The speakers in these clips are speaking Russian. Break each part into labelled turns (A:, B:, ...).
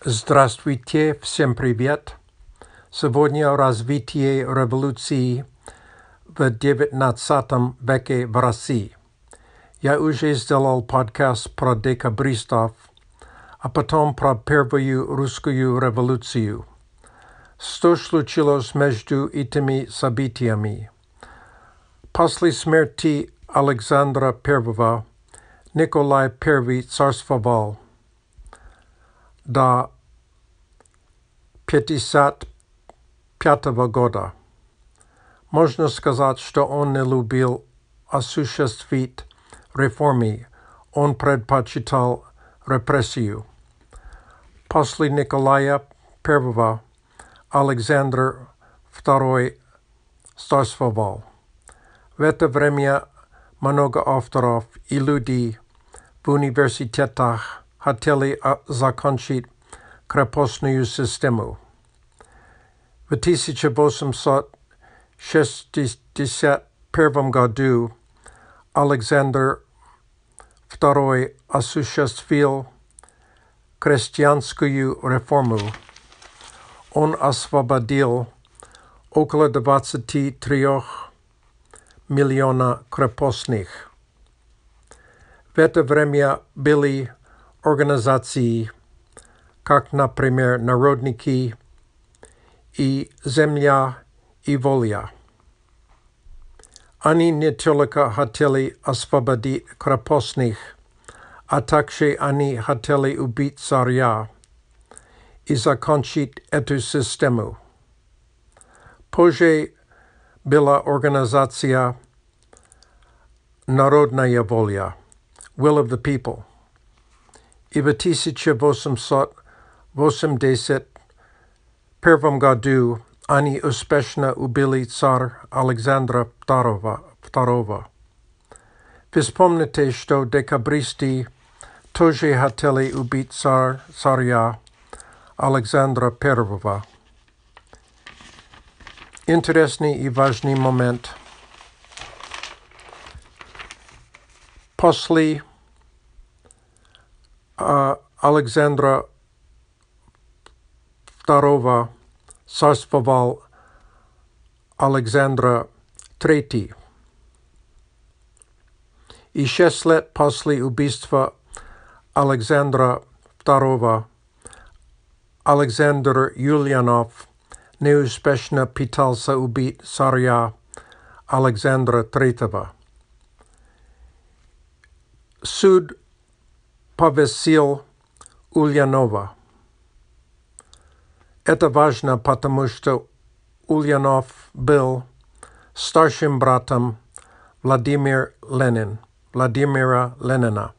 A: Здравствуйте, всем привет! Сегодня о развитии революции в XIX веке в России. Я уже сделал подкаст про декабристов, а потом про первую русскую революцию. Что случилось между этими событиями? После смерти Александра I Николай I царствовал до 1955 года. Можно сказать, что он не любил осуществить реформы, он предпочитал репрессию. После Николая I Александр II царствовал. В это время много авторов и людей в университетах хотели закончить крепостную систему. В 1861 году Александр II осуществил крестьянскую реформу. Он освободил около 23 миллионов крепостных. В это время были организации, как, например, народники и земля и воля. Они не только хотели освободить крепостных, а также они хотели убить царя и закончить эту систему. Позже была организация «Народная воля» Will of the People. И в 1881 году они успешно убили царя Александра II. Вы вспомните, что декабристы тоже хотели убить царя Александра I. Интересный и важный момент. После Александра II царствовал Александр III. И 6 лет после убийства Александра II Александр Юлианов неуспешно пытался убить царя Александра III. Суд повесил Ульянова. Это важно, потому что Ульянов был старшим братом Владимира Ленина.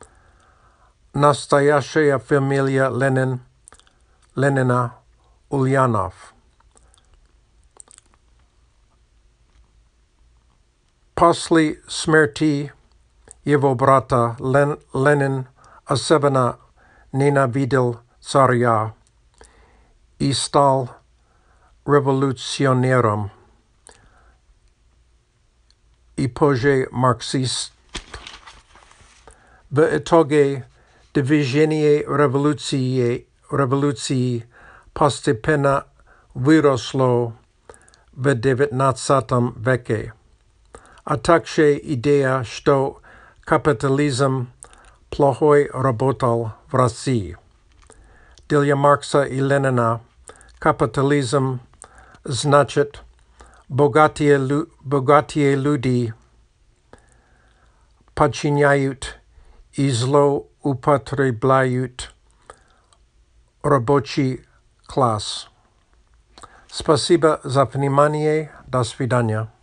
A: Настоящая фамилия Ленина Ульянов. После смерти его брата Ленин особенно ненавидел царя и стал революционером и позже марксист. В итоге движение революции постепенно выросло в XIX веке, а также идея, что капитализм плохой работал в России. Для Маркса и Ленина капитализм значит богатые люди подчиняют и злоупотребляют рабочий класс. Спасибо за внимание. До свидания.